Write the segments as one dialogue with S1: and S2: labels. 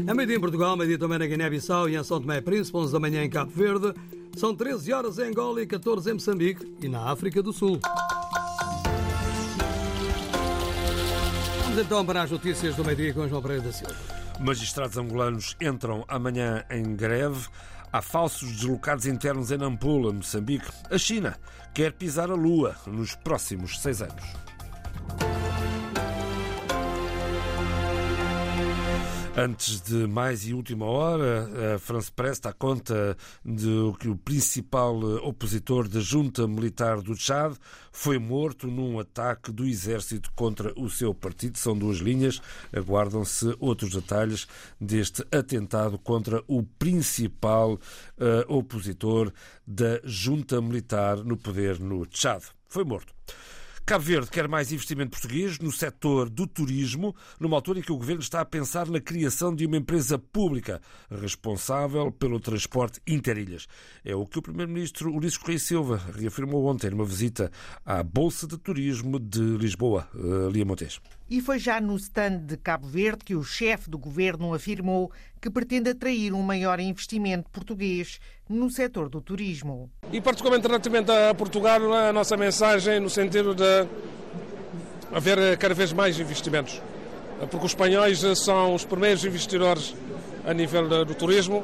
S1: É meio-dia em Portugal, meio-dia também na Guiné-Bissau e em São Tomé e Príncipe, 11 da manhã em Cabo Verde. São 13 horas em Angola e 14 em Moçambique e na África do Sul. Vamos então para as notícias do meio-dia com João Pereira da Silva.
S2: Magistrados angolanos entram amanhã em greve. Há falsos deslocados internos em Nampula, Moçambique. A China quer pisar a Lua nos próximos 6 anos. Antes de mais e última hora, a France Press dá conta de que o principal opositor da junta militar do Tchad foi morto num ataque do exército contra o seu partido. São 2 linhas. Aguardam-se outros detalhes deste atentado contra o principal opositor da junta militar no poder no Tchad. Foi morto. Cabo Verde quer mais investimento português no setor do turismo, numa altura em que o Governo está a pensar na criação de uma empresa pública responsável pelo transporte interilhas. É o que o Primeiro-Ministro Ulisses Correia Silva reafirmou ontem numa visita à Bolsa de Turismo de Lisboa, Lia Montes.
S3: E foi já no stand de Cabo Verde que o chefe do Governo afirmou que pretende atrair um maior investimento português no setor do turismo.
S4: E particularmente relativamente a Portugal, a nossa mensagem no sentido de haver cada vez mais investimentos. Porque os espanhóis são os primeiros investidores a nível do turismo.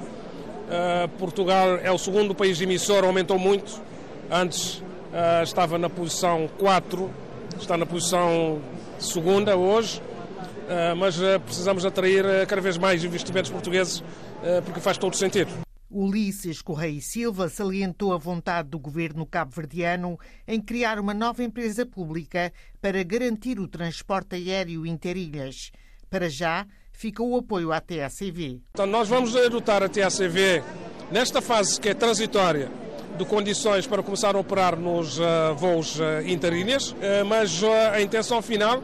S4: Portugal é o segundo país emissor, aumentou muito. Antes estava na posição 4, está na posição segunda hoje, mas precisamos atrair cada vez mais investimentos portugueses porque faz todo sentido.
S3: Ulisses Correia Silva salientou a vontade do governo cabo-verdiano em criar uma nova empresa pública para garantir o transporte aéreo interilhas. Para já, fica o apoio à TACV.
S4: Então, nós vamos adotar a TACV nesta fase que é transitória de condições para começar a operar nos voos interilhas, mas a intenção final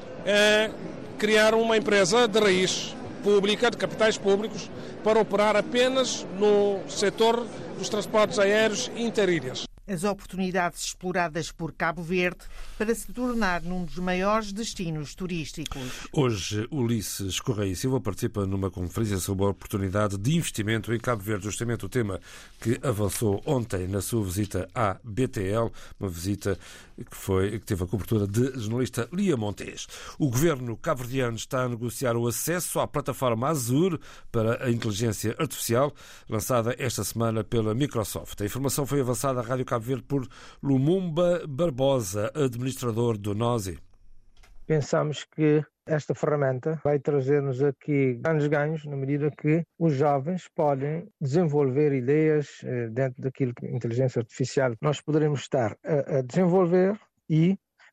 S4: é criar uma empresa de raiz pública, de capitais públicos, para operar apenas no setor dos transportes aéreos interilhas.
S3: As oportunidades exploradas por Cabo Verde para se tornar num dos maiores destinos turísticos.
S2: Hoje, Ulisses Correia Silva participa numa conferência sobre a oportunidade de investimento em Cabo Verde, justamente o tema que avançou ontem na sua visita à BTL, uma visita que teve a cobertura de jornalista Lia Montes. O governo cabo-verdiano está a negociar o acesso à plataforma Azure para a inteligência artificial, lançada esta semana pela Microsoft. A informação foi avançada à Rádio Cabo Verde por Lumumba Barbosa, administrador do NOSI.
S5: Pensamos que esta ferramenta vai trazer-nos aqui grandes ganhos na medida que os jovens podem desenvolver ideias dentro daquilo que inteligência artificial nós poderemos estar a desenvolver e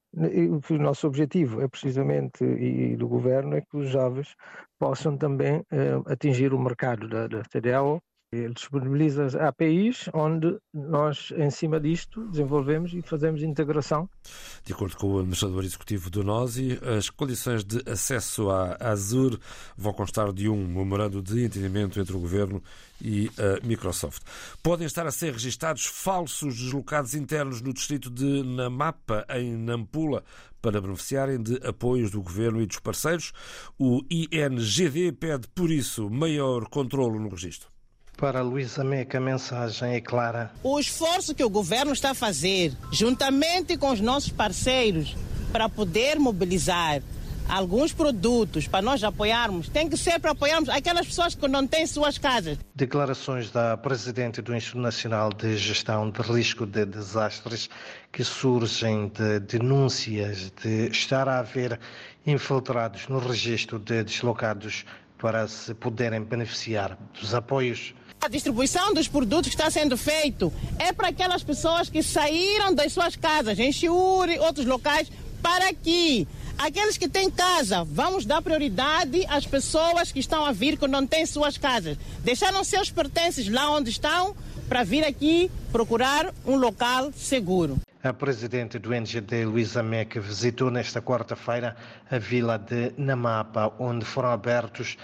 S5: o nosso objetivo é precisamente, e do governo, é que os jovens possam também atingir o mercado da TDAO. Ele disponibiliza APIs onde nós, em cima disto, desenvolvemos e fazemos integração.
S2: De acordo com o administrador executivo do NOSI, as condições de acesso à Azure vão constar de um memorando de entendimento entre o Governo e a Microsoft. Podem estar a ser registados falsos deslocados internos no distrito de Namapa, em Nampula, para beneficiarem de apoios do Governo e dos parceiros. O INGD pede, por isso, maior controlo no registro.
S6: Para Luísa Meca, a mensagem é clara.
S7: O esforço que o governo está a fazer, juntamente com os nossos parceiros, para poder mobilizar alguns produtos para nós apoiarmos, tem que ser para apoiarmos aquelas pessoas que não têm suas casas.
S6: Declarações da Presidente do Instituto Nacional de Gestão de Risco de Desastres, que surgem de denúncias de estar a haver infiltrados no registro de deslocados para se poderem beneficiar dos apoios.
S7: A distribuição dos produtos que está sendo feito é para aquelas pessoas que saíram das suas casas, em Chiuri, outros locais, para aqui. Aqueles que têm casa, vamos dar prioridade às pessoas que estão a vir que não têm suas casas. Deixaram seus pertences lá onde estão para vir aqui procurar um local seguro.
S6: A presidente do NGD, Luísa Meca, visitou nesta quarta-feira a vila de Namapa, onde foram abertos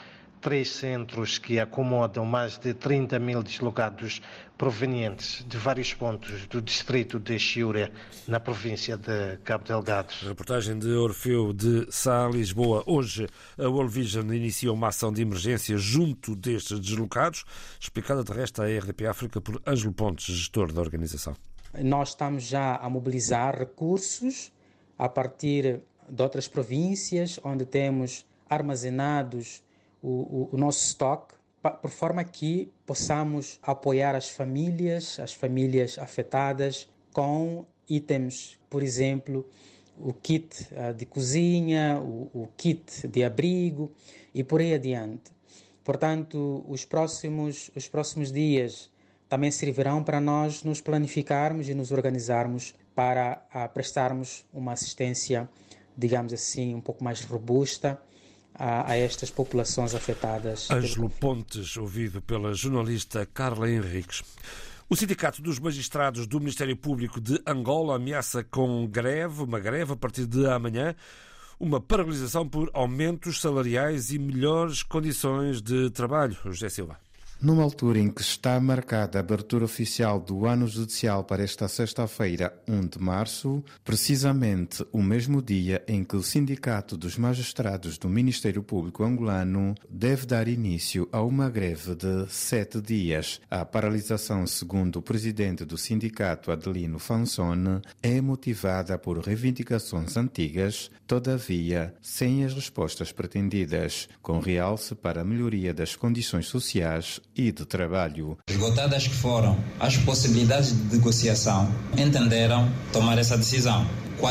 S6: 3 centros que acomodam mais de 30 mil deslocados provenientes de vários pontos do distrito de Chiure, na província de Cabo Delgado.
S2: Reportagem de Orfeu de Sá, Lisboa. Hoje a World Vision inicia uma ação de emergência junto destes deslocados, explicada de resto à RDP África por Ângelo Pontes, gestor da organização.
S8: Nós estamos já a mobilizar recursos a partir de outras províncias, onde temos armazenados o nosso estoque, por forma que possamos apoiar as famílias afetadas com itens, por exemplo, o kit de cozinha, o kit de abrigo e por aí adiante. Portanto, os próximos dias também servirão para nós nos planificarmos e nos organizarmos para prestarmos uma assistência, digamos assim, um pouco mais robusta a estas populações afetadas.
S2: Ângelo Pontes, ouvido pela jornalista Carla Henriques. O Sindicato dos Magistrados do Ministério Público de Angola ameaça com uma greve a partir de amanhã, uma paralisação por aumentos salariais e melhores condições de trabalho. José Silva.
S9: Numa altura em que está marcada a abertura oficial do ano judicial para esta sexta-feira, 1 de março, precisamente o mesmo dia em que o Sindicato dos Magistrados do Ministério Público angolano deve dar início a uma greve de 7 dias. A paralisação, segundo o presidente do sindicato, Adelino Fansone, é motivada por reivindicações antigas, todavia sem as respostas pretendidas, com realce para a melhoria das condições sociais e de trabalho.
S10: Esgotadas que foram as possibilidades de negociação, entenderam tomar essa decisão.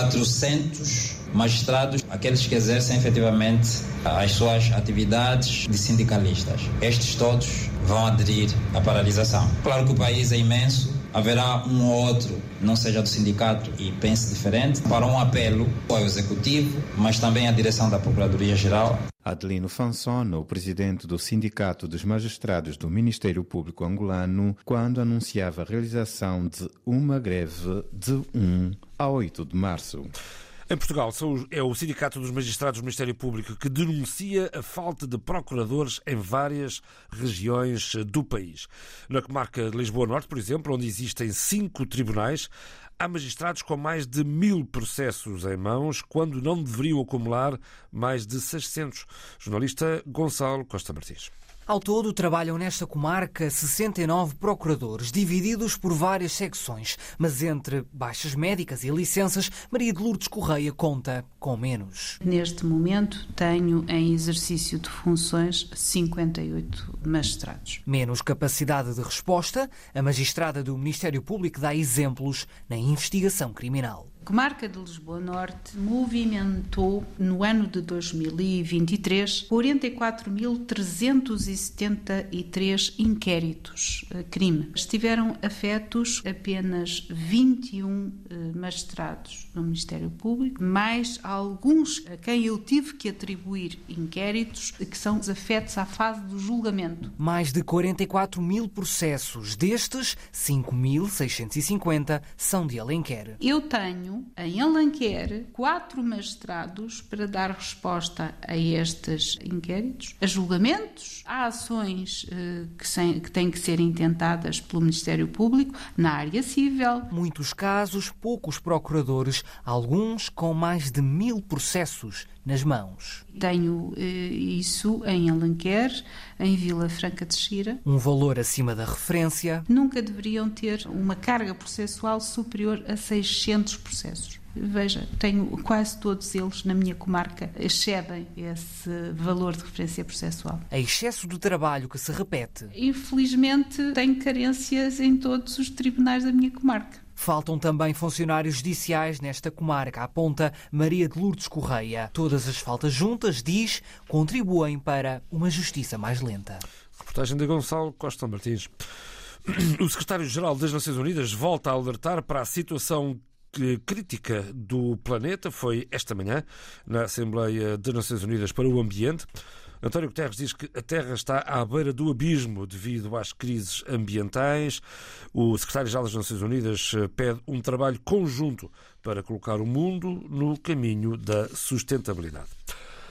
S10: 400 magistrados, aqueles que exercem efetivamente as suas atividades de sindicalistas. Estes todos vão aderir à paralisação. Claro que o país é imenso, haverá um ou outro, não seja do sindicato e pense diferente, para um apelo ao Executivo, mas também à direção da Procuradoria-Geral.
S9: Adelino Fansone, o presidente do Sindicato dos Magistrados do Ministério Público angolano, quando anunciava a realização de uma greve de 1 a 8 de março.
S2: Em Portugal, é o Sindicato dos Magistrados do Ministério Público que denuncia a falta de procuradores em várias regiões do país. Na comarca de Lisboa Norte, por exemplo, onde existem 5 tribunais, há magistrados com mais de 1000 processos em mãos, quando não deveriam acumular mais de 600. Jornalista Gonçalo Costa Martins.
S11: Ao todo, trabalham nesta comarca 69 procuradores, divididos por várias secções. Mas entre baixas médicas e licenças, Maria de Lourdes Correia conta com menos.
S12: Neste momento, tenho em exercício de funções 58 magistrados.
S11: Menos capacidade de resposta, a magistrada do Ministério Público dá exemplos na investigação criminal.
S12: A comarca de Lisboa Norte movimentou, no ano de 2023, 44.373 inquéritos crime. Estiveram afetos apenas 21 magistrados do Ministério Público, mais alguns a quem eu tive que atribuir inquéritos que são afetos à fase do julgamento.
S11: Mais de 44 mil processos, destes 5.650 são de Alenquer.
S12: Eu tenho em Alenquer 4 magistrados para dar resposta a estes inquéritos, a julgamentos, a ações que têm que ser intentadas pelo Ministério Público na área civil.
S11: Muitos casos, poucos procuradores, alguns com mais de 1000 processos nas mãos.
S12: Tenho isso em Alenquer, em Vila Franca de Xira.
S11: Um valor acima da referência.
S12: Nunca deveriam ter uma carga processual superior a 600 processos. Veja, tenho quase todos eles na minha comarca, excedem esse valor de referência processual.
S11: É excesso de trabalho que se repete.
S12: Infelizmente, tenho carências em todos os tribunais da minha comarca.
S11: Faltam também funcionários judiciais nesta comarca, aponta Maria de Lourdes Correia. Todas as faltas juntas, diz, contribuem para uma justiça mais lenta.
S2: Reportagem de Gonçalo Costa Martins. O secretário-geral das Nações Unidas volta a alertar para a situação crítica do planeta. Foi esta manhã na Assembleia das Nações Unidas para o Ambiente. António Guterres diz que a Terra está à beira do abismo devido às crises ambientais. O secretário-geral das Nações Unidas pede um trabalho conjunto para colocar o mundo no caminho da sustentabilidade.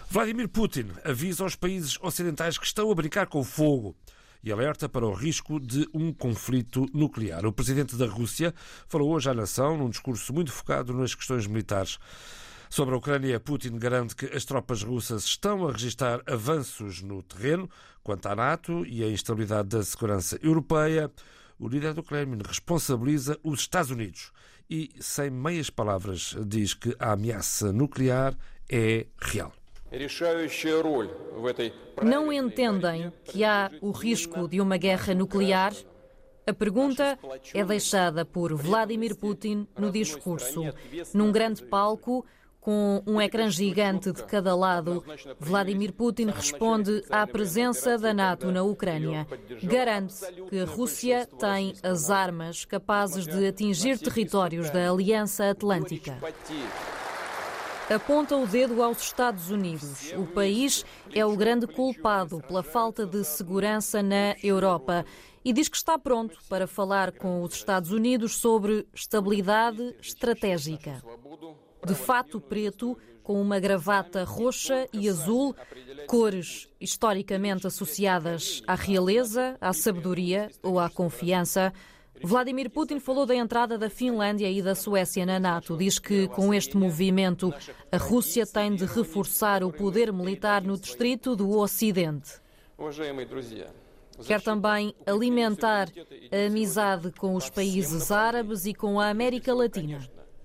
S2: Vladimir Putin avisa aos países ocidentais que estão a brincar com o fogo e alerta para o risco de um conflito nuclear. O presidente da Rússia falou hoje à nação num discurso muito focado nas questões militares. Sobre a Ucrânia, Putin garante que as tropas russas estão a registrar avanços no terreno. Quanto à NATO e à instabilidade da segurança europeia, o líder do Kremlin responsabiliza os Estados Unidos e, sem meias palavras, diz que a ameaça nuclear é real.
S13: Não entendem que há o risco de uma guerra nuclear? A pergunta é deixada por Vladimir Putin no discurso. Num grande palco, com um ecrã gigante de cada lado, Vladimir Putin responde à presença da NATO na Ucrânia. Garante que a Rússia tem as armas capazes de atingir territórios da Aliança Atlântica. Aponta o dedo aos Estados Unidos. O país é o grande culpado pela falta de segurança na Europa e diz que está pronto para falar com os Estados Unidos sobre estabilidade estratégica. De fato preto, com uma gravata roxa e azul, cores historicamente associadas à realeza, à sabedoria ou à confiança, Vladimir Putin falou da entrada da Finlândia e da Suécia na NATO. Diz que, com este movimento, a Rússia tem de reforçar o poder militar no distrito do Ocidente. Quer também alimentar a amizade com os países árabes e com a América Latina.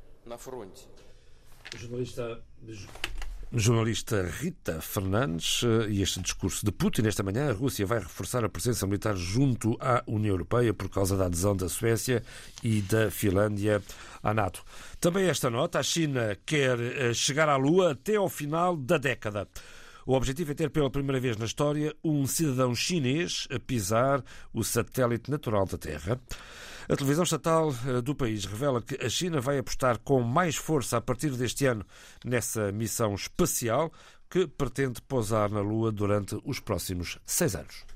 S2: Jornalista Rita Fernandes, e este discurso de Putin esta manhã: a Rússia vai reforçar a presença militar junto à União Europeia por causa da adesão da Suécia e da Finlândia à NATO. Também esta nota: a China quer chegar à Lua até ao final da década. O objetivo é ter pela primeira vez na história um cidadão chinês a pisar o satélite natural da Terra. A televisão estatal do país revela que a China vai apostar com mais força a partir deste ano nessa missão espacial que pretende pousar na Lua durante os próximos 6 anos.